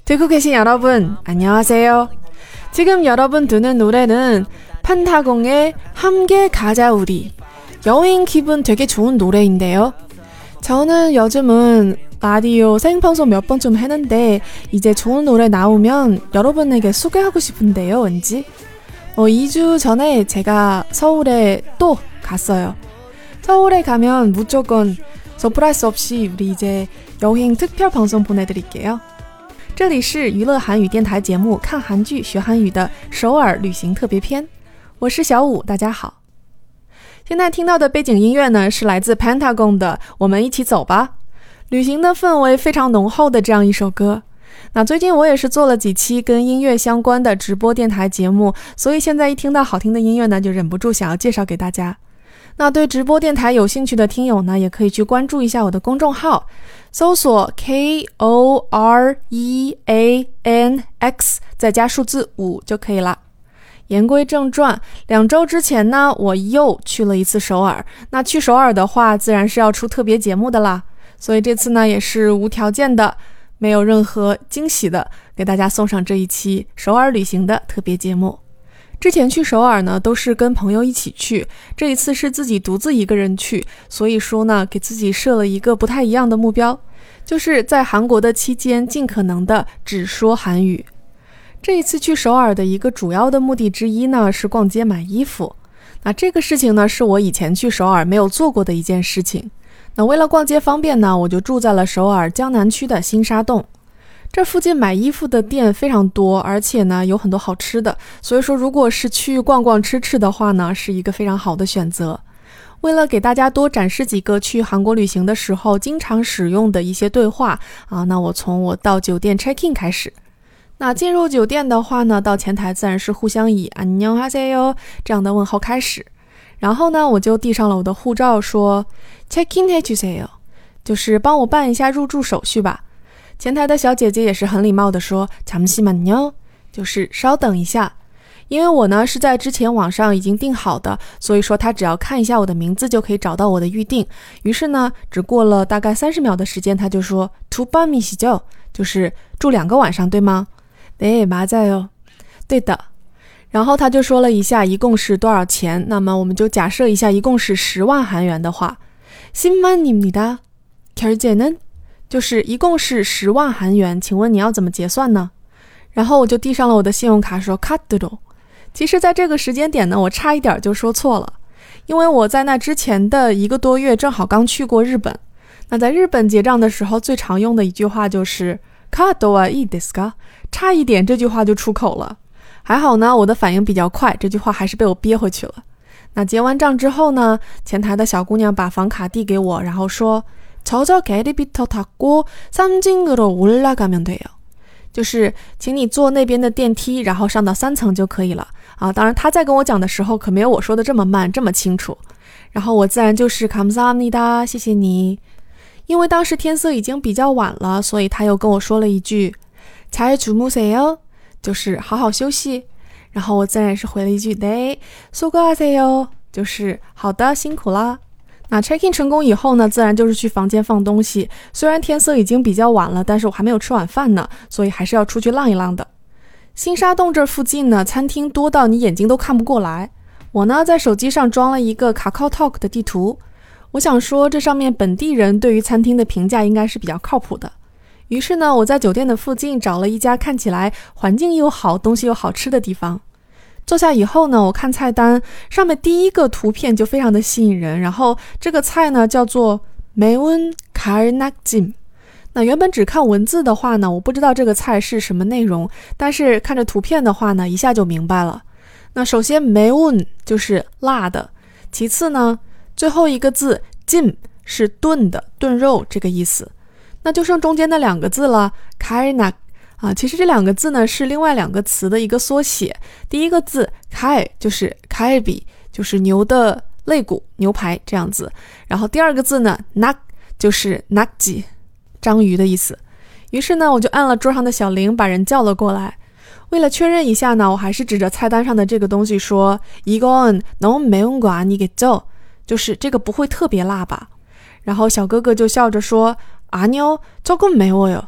듣고 계신 여러분, 안녕하세요. 지금 여러분 듣는 노래는 판타공의 함께 가자 우리. 여행 기분 되게 좋은 노래인데요. 저는 요즘은 라디오 생방송 몇 번 좀 했는데 이제 좋은 노래 나오면 여러분에게 소개하고 싶은데요, 왠지. 2주 전에 제가 서울에 또 갔어요. 서울에 가면 무조건 서프라이즈 없이 우리 이제 여행 특별 방송 보내드릴게요. 这里是娱乐韩语电台节目看韩剧学韩语的首尔旅行特别篇，我是小五，大家好。现在听到的背景音乐呢，是来自 Pentagon 的我们一起走吧，旅行的氛围非常浓厚的这样一首歌。那最近我也是做了几期跟音乐相关的直播电台节目，所以现在一听到好听的音乐呢，就忍不住想要介绍给大家。那对直播电台有兴趣的听友呢，也可以去关注一下我的公众号，搜索 KOREANX 再加数字5就可以了。言归正传，2周之前呢，我又去了一次首尔。那去首尔的话，自然是要出特别节目的啦。所以这次呢，也是无条件的，没有任何惊喜的，给大家送上这一期首尔旅行的特别节目。之前去首尔呢，都是跟朋友一起去，这一次是自己独自一个人去，所以说呢，给自己设了一个不太一样的目标，就是在韩国的期间尽可能的只说韩语。这一次去首尔的一个主要的目的之一呢，是逛街买衣服。那这个事情呢，是我以前去首尔没有做过的一件事情。那为了逛街方便呢，我就住在了首尔江南区的新沙洞。这附近买衣服的店非常多，而且呢有很多好吃的，所以说如果是去逛逛吃吃的话呢，是一个非常好的选择。为了给大家多展示几个去韩国旅行的时候经常使用的一些对话那我从我到酒店 check in 开始。那进入酒店的话呢，到前台自然是互相以안녕하세요这样的问候开始。然后呢，我就递上了我的护照，说 check in 해주세요， 就是帮我办一下入住手续吧。前台的小姐姐也是很礼貌的说잠시만요，就是稍等一下。因为我呢是在之前网上已经订好的，所以说她只要看一下我的名字就可以找到我的预定。于是呢，只过了大概30秒的时间，她就说투밤이시죠，就是住2个晚上对吗？네 맞아요，对的。然后他就说了一下一共是多少钱，那么我们就假设一下一共是10万韩元的话， 10만입니다。 결제는就是一共是10万韩元，请问你要怎么结算呢？然后我就递上了我的信用卡说카드로。其实在这个时间点呢，我差一点就说错了，因为我在那之前的1个多月正好刚去过日本。那在日本结账的时候最常用的一句话就是カードはいいですか，差一点这句话就出口了。还好呢，我的反应比较快，这句话还是被我憋回去了。那结完账之后呢，前台的小姑娘把房卡递给我，然后说저저 엘리베이터 타고 3층으로 올라가면 돼요， 就是请你坐那边的电梯，然后上到3层就可以了当然他在跟我讲的时候可没有我说的这么慢这么清楚。然后我自然就是감사합니다，谢谢你。因为当时天色已经比较晚了，所以他又跟我说了一句잘 주무세요，就是好好休息。然后我自然也是回了一句네 수고하세요，就是好的辛苦啦。那 check in 成功以后呢，自然就是去房间放东西。虽然天色已经比较晚了，但是我还没有吃晚饭呢，所以还是要出去浪一浪的。新沙洞这附近呢，餐厅多到你眼睛都看不过来。我呢在手机上装了一个 KakaoTalk 的地图，我想说这上面本地人对于餐厅的评价应该是比较靠谱的。于是呢，我在酒店的附近找了一家看起来环境又好东西又好吃的地方。坐下以后呢，我看菜单上面第一个图片就非常的吸引人，然后这个菜呢叫做매운 갈낙짐。那原本只看文字的话呢，我不知道这个菜是什么内容，但是看着图片的话呢，一下就明白了。那首先매운就是辣的，其次呢最后一个字찜是炖的炖肉这个意思。那就剩中间的2个字了갈낙其实这2个字呢是另外2个词的一个缩写。第一个字칼就是칼비，就是牛的肋骨牛排这样子。然后第2个字呢낙就是낙지章鱼的意思。于是呢我就按了桌上的小铃把人叫了过来。为了确认一下呢，我还是指着菜单上的这个东西说이건 너무 매운 거 아니겠죠，就是这个不会特别辣吧。然后小哥哥就笑着说아니요 조금 매워요，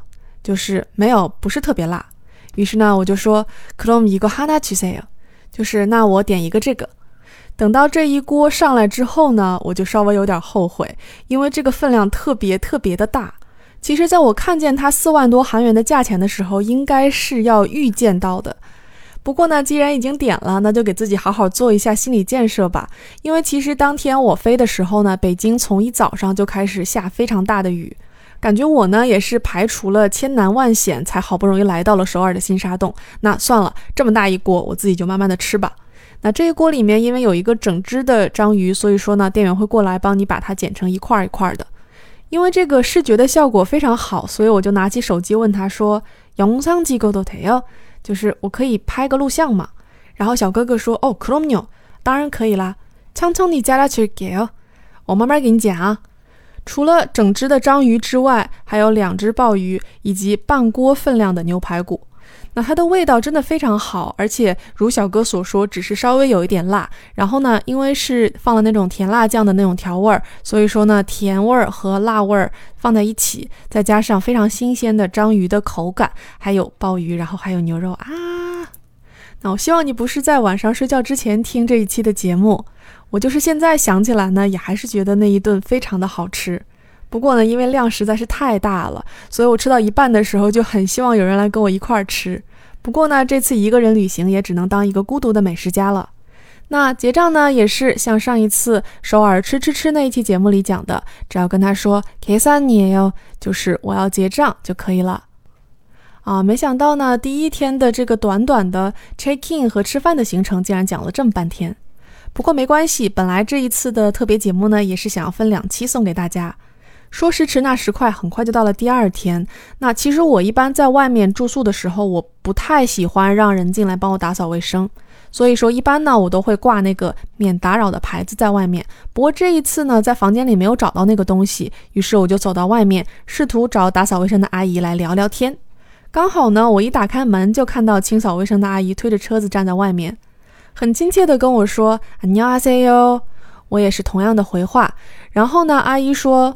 就是没有，不是特别辣。于是呢我就说그럼 이거 하나 주세요，就是那我点一个这个。等到这一锅上来之后呢，我就稍微有点后悔，因为这个分量特别的大。其实在我看见它4万多韩元的价钱的时候，应该是要预见到的。不过呢，既然已经点了，那就给自己好好做一下心理建设吧。因为其实当天我飞的时候呢，北京从一早上就开始下非常大的雨，感觉我呢也是排除了千难万险，才好不容易来到了首尔的新沙洞。那算了，这么大一锅，我自己就慢慢的吃吧。那这一锅里面因为有一个整只的章鱼，所以说呢店员会过来帮你把它剪成一块一块的。因为这个视觉的效果非常好，所以我就拿起手机问他说영상 찍어도 돼요？就是我可以拍个录像吗？然后小哥哥说그럼요，当然可以啦。천천히 잘라줄게요，我慢慢给你剪啊。除了整只的章鱼之外，还有2只鲍鱼以及半锅分量的牛排骨。那它的味道真的非常好，而且如小哥所说，只是稍微有一点辣。然后呢，因为是放了那种甜辣酱的那种调味，所以说呢，甜味和辣味放在一起，再加上非常新鲜的章鱼的口感，还有鲍鱼，然后还有牛肉啊。那我希望你不是在晚上睡觉之前听这一期的节目，我就是现在想起来呢，也还是觉得那一顿非常的好吃。不过呢，因为量实在是太大了，所以我吃到一半的时候就很希望有人来跟我一块儿吃。不过呢，这次一个人旅行也只能当一个孤独的美食家了。那结账呢，也是像上一次首尔吃那一期节目里讲的，只要跟他说계산이에요，就是我要结账就可以了。没想到呢，第一天的这个短短的 check in 和吃饭的行程竟然讲了这么半天。不过没关系，本来这一次的特别节目呢，也是想要分2期送给大家。说时迟那时快，很快就到了第2天。那其实我一般在外面住宿的时候，我不太喜欢让人进来帮我打扫卫生，所以说一般呢我都会挂那个免打扰的牌子在外面。不过这一次呢，在房间里没有找到那个东西，于是我就走到外面，试图找打扫卫生的阿姨来聊聊天。刚好呢，我一打开门就看到清扫卫生的阿姨推着车子站在外面，很亲切的跟我说안녕하세요，我也是同样的回话。然后呢，阿姨说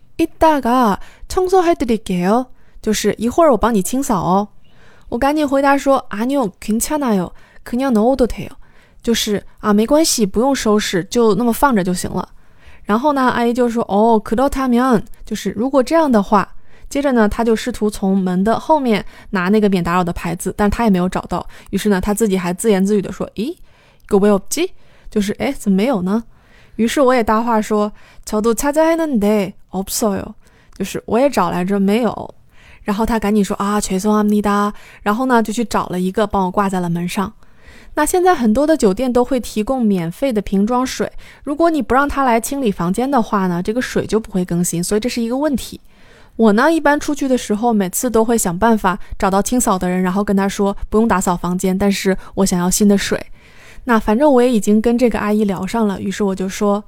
이따가 청소해드릴게요，就是一会儿我帮你清扫哦。我赶紧回答说아니요 괜찮아요 그냥 넣어도 돼요，就是没关系，不用收拾，就那么放着就行了。然后呢，阿姨就说그렇다면，就是如果这样的话。接着呢，他就试图从门的后面拿那个免打扰的牌子，但他也没有找到。于是呢，他自己还自言自语的说咦이거 왜 없지，就是怎么没有呢？于是我也搭话说저도 찾아했는데 없어요，就是我也找来着没有。然后他赶紧说죄송합니다，然后呢就去找了一个帮我挂在了门上。那现在很多的酒店都会提供免费的瓶装水，如果你不让他来清理房间的话呢，这个水就不会更新，所以这是一个问题。我呢一般出去的时候，每次都会想办法找到清扫的人，然后跟他说不用打扫房间，但是我想要新的水。那反正我也已经跟这个阿姨聊上了，于是我就说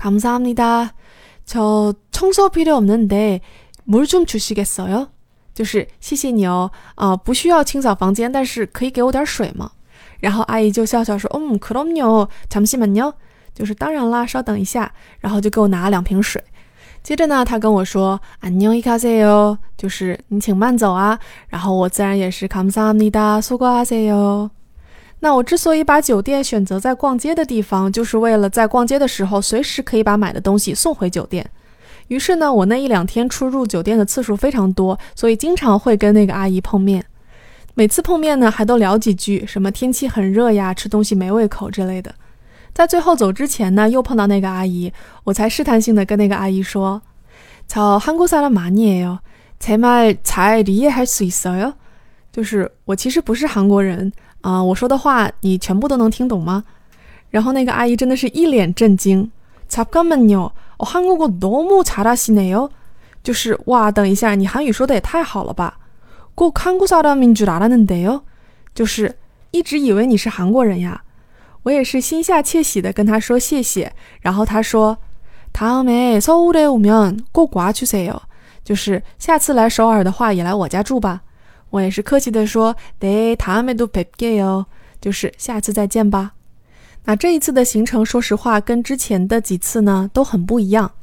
감사합니다，저 청소 필요 없는데 물 좀 주시겠어요？就是谢谢你哦，不需要清扫房间，但是可以给我点水吗？然后阿姨就笑笑说그럼요 잠시만요，就是当然啦，稍等一下，然后就给我拿了2瓶水。接着呢，他跟我说안녕히 가세요，就是你请慢走啊。然后我自然也是감사합니다 수고하세요。那我之所以把酒店选择在逛街的地方，就是为了在逛街的时候随时可以把买的东西送回酒店。于是呢，我那1-2天出入酒店的次数非常多，所以经常会跟那个阿姨碰面。每次碰面呢，还都聊几句，什么天气很热呀，吃东西没胃口之类的。在最后走之前呢，又碰到那个阿姨，我才试探性的跟那个阿姨说저 한국 사람 아니에요，제 말 잘 이해할 수 있어요？就是我其实不是韩国人我说的话你全部都能听懂吗？然后那个阿姨真的是一脸震惊잠깐만요，한국어 너무 잘하시네요，就是哇，等一下，你韩语说的也太好了吧，꼭 한국 사람인 줄 알았는데요，就是一直以为你是韩国人呀。我也是心下窃喜的跟他说谢谢，然后他说다음에 서울에 오면 꼭 와주세요，就是下次来首尔的话也来我家住吧。我也是客气的说네 다음에도 뵐게요，就是下次再见吧。那这一次的行程说实话跟之前的几次呢都很不一样，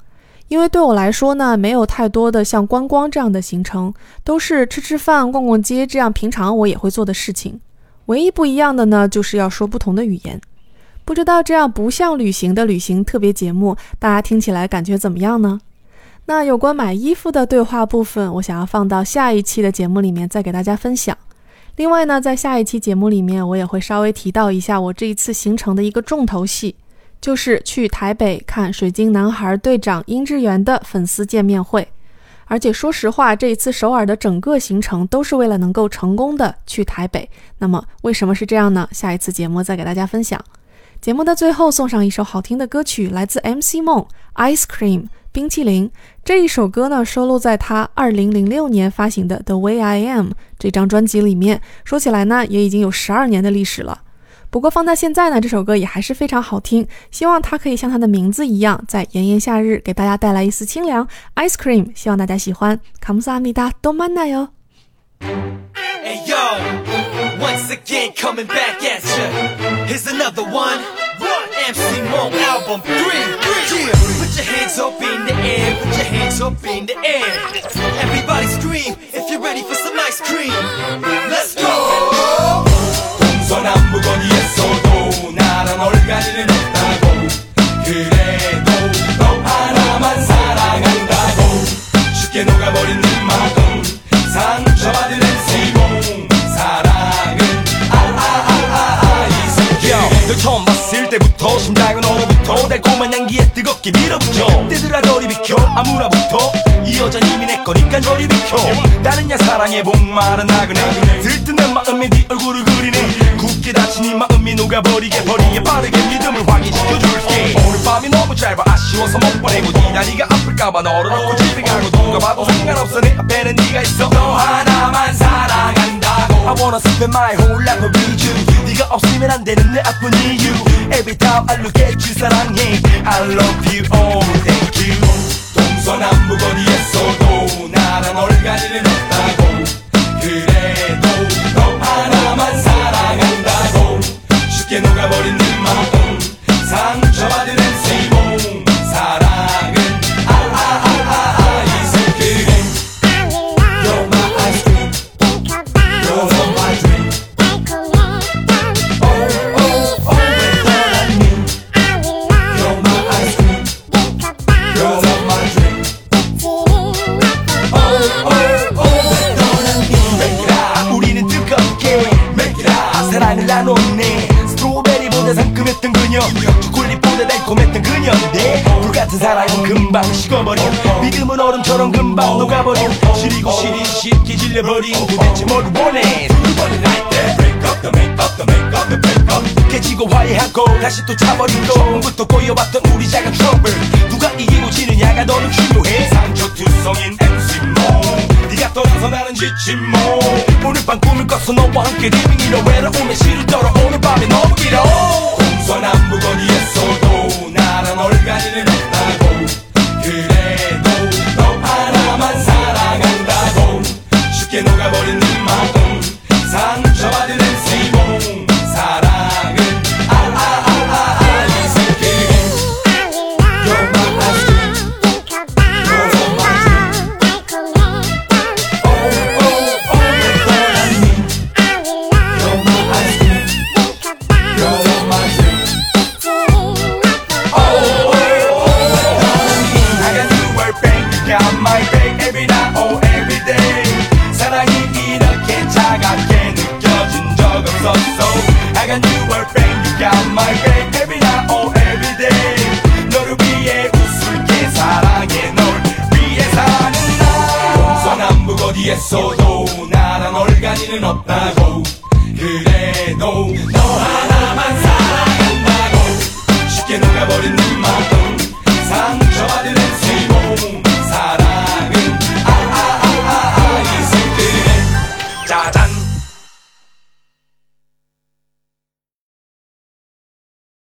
因为对我来说呢，没有太多的像观光这样的行程，都是吃吃饭、逛逛街这样平常我也会做的事情。唯一不一样的呢，就是要说不同的语言。不知道这样不像旅行的旅行特别节目，大家听起来感觉怎么样呢？那有关买衣服的对话部分，我想要放到下一期的节目里面再给大家分享。另外呢，在下一期节目里面，我也会稍微提到一下我这一次行程的一个重头戏，就是去台北看水晶男孩队长殷志源的粉丝见面会。而且说实话，这一次首尔的整个行程都是为了能够成功的去台北。那么为什么是这样呢？下一次节目再给大家分享。节目的最后送上一首好听的歌曲，来自 MC 梦 Ice Cream 冰淇淋。这一首歌呢，收录在他2006年发行的 The Way I Am 这张专辑里面，说起来呢，也已经有12年的历史了。不过放在现在呢，这首歌也还是非常好听，希望它可以像它的名字一样，在炎炎夏日给大家带来一丝清凉。Ice Cream， 希望大家喜欢。감사합니다，또 만나요。 Hey yo, once again coming back at ya. Here's another one. MC Mo album 3. Yeah. Put your hands up in the air. Put your hands up in the air. Everybody scream if you're ready for some ice cream. Let's go. 동서남북 어디에서도 나란 얼간이는 없다고. 그래도 너 하나만 사랑한다고. 쉽게 녹아버린 네 마음 상처받은 MC 사랑은 널 처음 봤을 때부터 심장은 얼어붙어 달콤한 향기에 뜨겁게 밀어붙여 떼들아 저리 비켜 아무나부터 이 여잔 이미 내 거니까 저리 비켜 다른 야 사랑에 목마른 나그네 들뜬한 마음에 네 얼굴을 그리네 굳게 닫힌 이 마음이 녹아버리게 버리게 빠르게 믿음을 확인시켜줄게 오늘 밤이 너무 짧아 아쉬워서 못 보내고 네 다리가 아플까봐 너를 놓고 집에 가고 누가 봐도 상관없어 내 앞에는 네가 있어 너 하나만 사랑한다고 I wanna spend my whole life with you 네가 없으면 안 되는 내 아픈 이유 Every time I look at you 사랑해 I love you oh thank you 동서남북 어디에서도 나란 얼간이는 없다고 그래도 너 하나만 사랑한다고 쉽게 녹아버린 네 마음 상처받은 MC 몸 사랑은 이슬 그림 You're my ice cream You're my dream You're my ice cream You're my dream Make it out 우리는 뜨겁게 Make it out 사랑을 나눴네 스트로베리보다 상큼했던 그녀 초콜릿보다 달콤했던 그녀인데 불같은 사랑은 금방 식어버려 믿음은 얼음처럼 금방 녹아버려 시리고 시리 쉽게 질려버린 도대체 뭘 원해 두번은 like that Break up the make up the make up the break up 깨지고 화해하고 다시 또 차버리고 처음부터 꼬여봤던 우리 작은 트러블 누가 이기고 지느냐가 너는 중요해 상처투성인 MC 네가 떠나서 나는 지친 몸 오늘 밤 꿈을 꿨어 너와 함께 리빙이라 외로움에 시를 떨어 오늘 밤이 너무 길어 동서남북 어디에서도 나란 얼간이는 없다고 그래도 너 하나만 사랑한다고 쉽게 녹아버린 네 마음 상처받은 MC 몸 사랑은 이슬 그림 You're my ice cream You're my dream You're my ice cream You're my dream I got you work back You got my back every night or every day 사랑이 이렇게 차갑게 느껴진 적 없었어 I got you work back You got my back every night or every day 너를 위해 웃을게 사랑해 널 위해 사는 나 동서남북 어디에서도 나란 얼간이는 없다고 그래도 너 하나만 사랑한다고 쉽게 녹아버린 네 마음